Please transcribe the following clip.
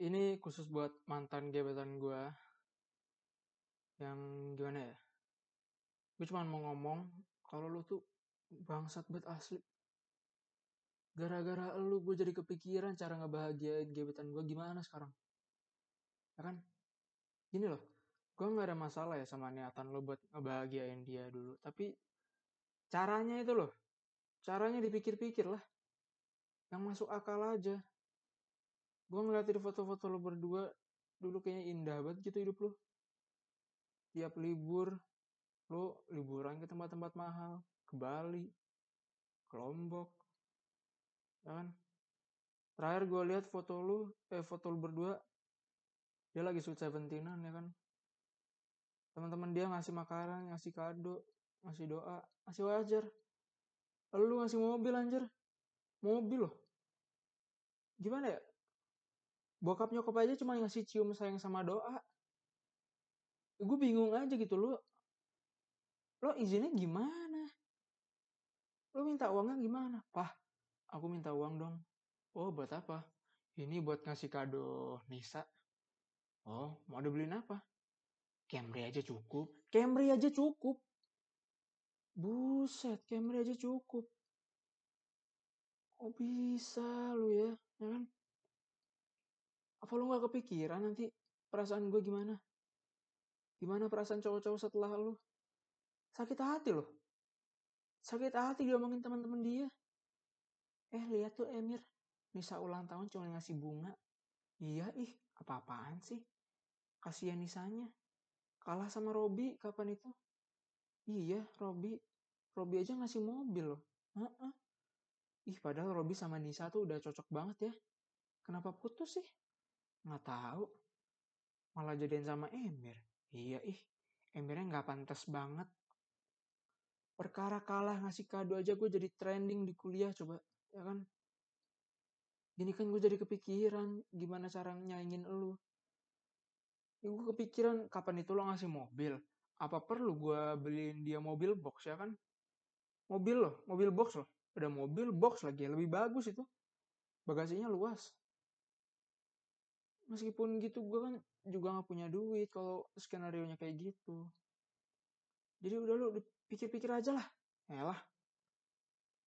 Ini khusus buat mantan gebetan gue yang gimana ya? Gue cuma mau ngomong kalau lu tuh bangsat banget asli. Gara-gara lu gue jadi kepikiran cara ngebahagiain gebetan gue gimana sekarang. Ya kan? Gini loh, gue nggak ada masalah ya sama niatan lo buat ngebahagiain dia dulu. Tapi caranya itu loh, caranya dipikir-pikir lah. Yang masuk akal aja. Gue ngeliatin foto-foto lo berdua dulu kayaknya indah banget gitu hidup lo. Tiap libur, lo liburan ke tempat-tempat mahal. Ke Bali, ke Lombok, ya kan? Terakhir gue lihat foto lu berdua, dia lagi sweet seventeenan ya kan? Teman-teman dia ngasih makanan, ngasih kado, ngasih doa, ngasih wajar. Lalu lu ngasih mobil anjir, mobil loh. Gimana ya? Bokap nyokap aja cuma ngasih cium sayang sama doa. Gue bingung aja gitu lo izinnya gimana? Lo minta uangnya gimana? Pah, aku minta uang dong. Oh, buat apa? Ini buat ngasih kado Nisa. Oh, mau dibeliin apa? Camry aja cukup. Camry aja cukup. Buset, Camry aja cukup. Kok bisa lu ya? Ya kan? Apa lu gak kepikiran nanti perasaan gue gimana? Gimana perasaan cowok-cowok setelah lu? Sakit hati loh. Sakit hati diomongin teman-teman dia. Lihat tuh Emir. Nisa ulang tahun cuma ngasih bunga. Iya apa-apaan sih? Kasihan Nisanya. Kalah sama Robi kapan itu? Iya, Robi aja ngasih mobil loh. Heeh. Padahal Robi sama Nisa tuh udah cocok banget ya. Kenapa putus sih? Nggak tahu. Malah jadian sama Emir. Iya Emirnya nggak pantas banget. Perkara kalah ngasih kado aja gue jadi trending di kuliah coba. Ya kan? Gini kan gue jadi kepikiran gimana cara nyaingin elu. Gue kepikiran kapan itu lo ngasih mobil. Apa perlu gue beliin dia mobil box ya kan? Mobil box loh. Udah mobil box lagi, lebih bagus itu. Bagasinya luas. Meskipun gitu gue kan juga gak punya duit kalau skenario nya kayak gitu. Jadi udah lu pikir-pikir aja lah. Yalah,